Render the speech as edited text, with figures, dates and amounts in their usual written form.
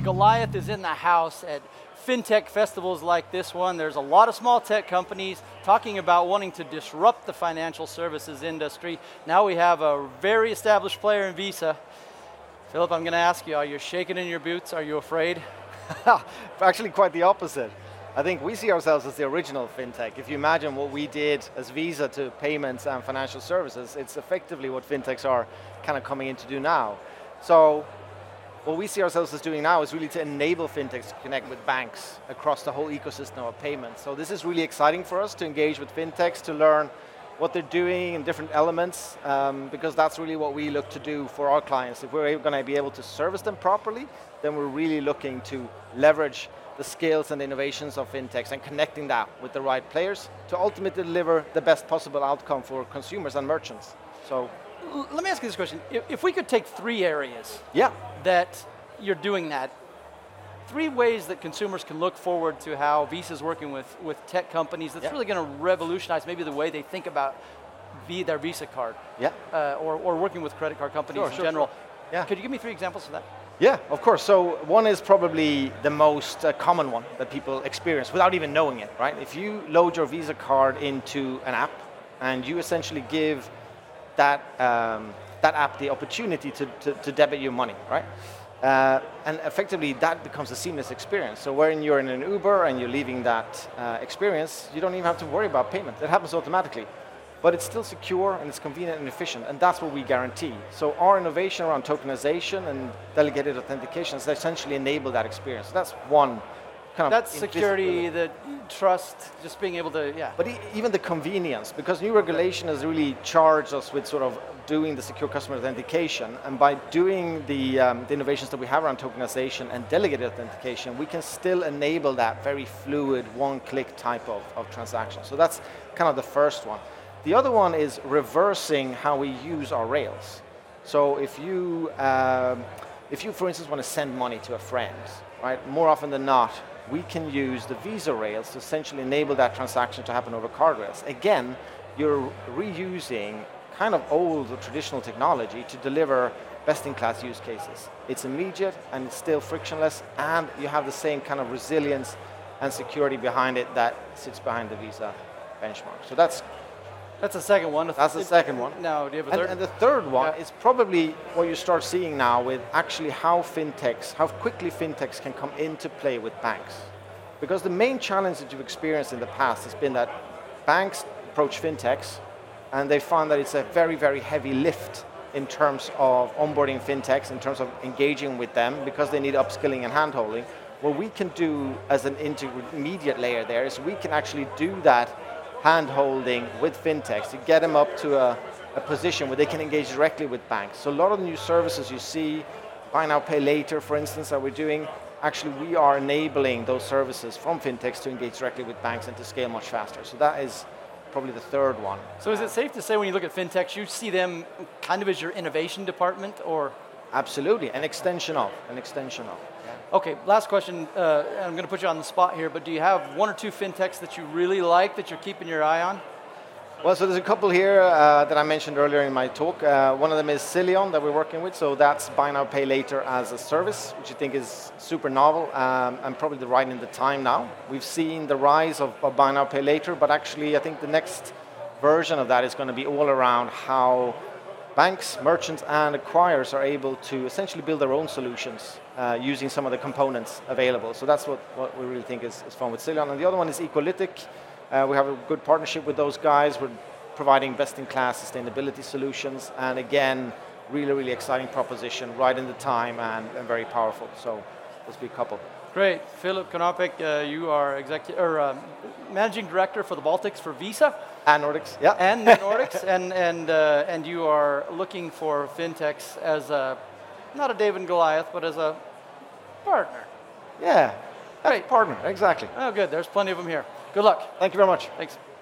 Goliath is in the house at fintech festivals like this one. There's a lot of small tech companies talking about wanting to disrupt the financial services industry. Now we have a very established player in Visa. Philip, I'm going to ask you, are you shaking in your boots? Are you afraid? Actually, quite the opposite. I think we see ourselves as the original fintech. If you imagine what we did as Visa to payments and financial services, it's effectively what fintechs are kind of coming in to do now. So what we see ourselves as doing now is really to enable fintechs to connect with banks across the whole ecosystem of payments. So this is really exciting for us to engage with fintechs, to learn what they're doing in different elements, because that's really what we look to do for our clients. If we're going to be able to service them properly, then we're really looking to leverage the skills and innovations of fintechs and connecting that with the right players to ultimately deliver the best possible outcome for consumers and merchants. So, let me ask you this question. If we could take 3 areas that you're doing that, 3 ways that consumers can look forward to how Visa's working with tech companies that's really going to revolutionize maybe the way they think about their Visa card, or working with credit card companies in general. Yeah. Could you give me 3 examples of that? Yeah, of course. So one is probably the most common one that people experience without even knowing it, right? If you load your Visa card into an app and you essentially give that app the opportunity to debit your money, right? And effectively that becomes a seamless experience. So when you're in an Uber and you're leaving that experience, you don't even have to worry about payment. It happens automatically. But it's still secure and it's convenient and efficient, and that's what we guarantee. So our innovation around tokenization and delegated authentication has essentially enabled that experience. So that's one kind of... That's security, the trust, just being able to, But even the convenience, because new regulation has really charged us with sort of doing the secure customer authentication, and by doing the innovations that we have around tokenization and delegated authentication, we can still enable that very fluid, one-click type of transaction. So that's kind of the first one. The other one is reversing how we use our rails. So if you, for instance, want to send money to a friend, right? More often than not, we can use the Visa rails to essentially enable that transaction to happen over card rails. Again, you're reusing kind of old or traditional technology to deliver best-in-class use cases. It's immediate and it's still frictionless, and you have the same kind of resilience and security behind it that sits behind the Visa benchmark. So that's the second one. That's the second one. Now, do you have a third? And the third one is probably what you start seeing now with actually how quickly fintechs can come into play with banks. Because the main challenge that you've experienced in the past has been that banks approach fintechs and they find that it's a very, very heavy lift in terms of onboarding fintechs, in terms of engaging with them, because they need upskilling and handholding. What we can do as an intermediate layer there is we can actually do that hand-holding with fintechs to get them up to a position where they can engage directly with banks. So a lot of the new services you see, buy now, pay later, for instance, that we're doing, actually we are enabling those services from fintechs to engage directly with banks and to scale much faster. So that is probably the third one. So is it safe to say when you look at fintechs, you see them kind of as your innovation department, or? Absolutely, an extension of. Okay, last question, I'm going to put you on the spot here, but do you have 1 or 2 fintechs that you really like, that you're keeping your eye on? Well, so there's a couple here that I mentioned earlier in my talk. One of them is Cilion that we're working with, so that's buy now, pay later as a service, which I think is super novel and probably the right in the time now. We've seen the rise of buy now, pay later, but actually I think the next version of that is going to be all around how banks, merchants, and acquirers are able to essentially build their own solutions using some of the components available. So that's what we really think is fun with Cilion. And the other one is Equalytic. We have a good partnership with those guys. We're providing best-in-class sustainability solutions. And again, really, really exciting proposition, right in the time and very powerful. So let's be a couple. Great. Philip Konopek, you are Managing Director for the Baltics for Visa. And Nordics, yeah. And the Nordics, and you are looking for fintechs as not a David and Goliath, but as a partner. Yeah, great. Partner, exactly. Oh, good. There's plenty of them here. Good luck. Thank you very much. Thanks.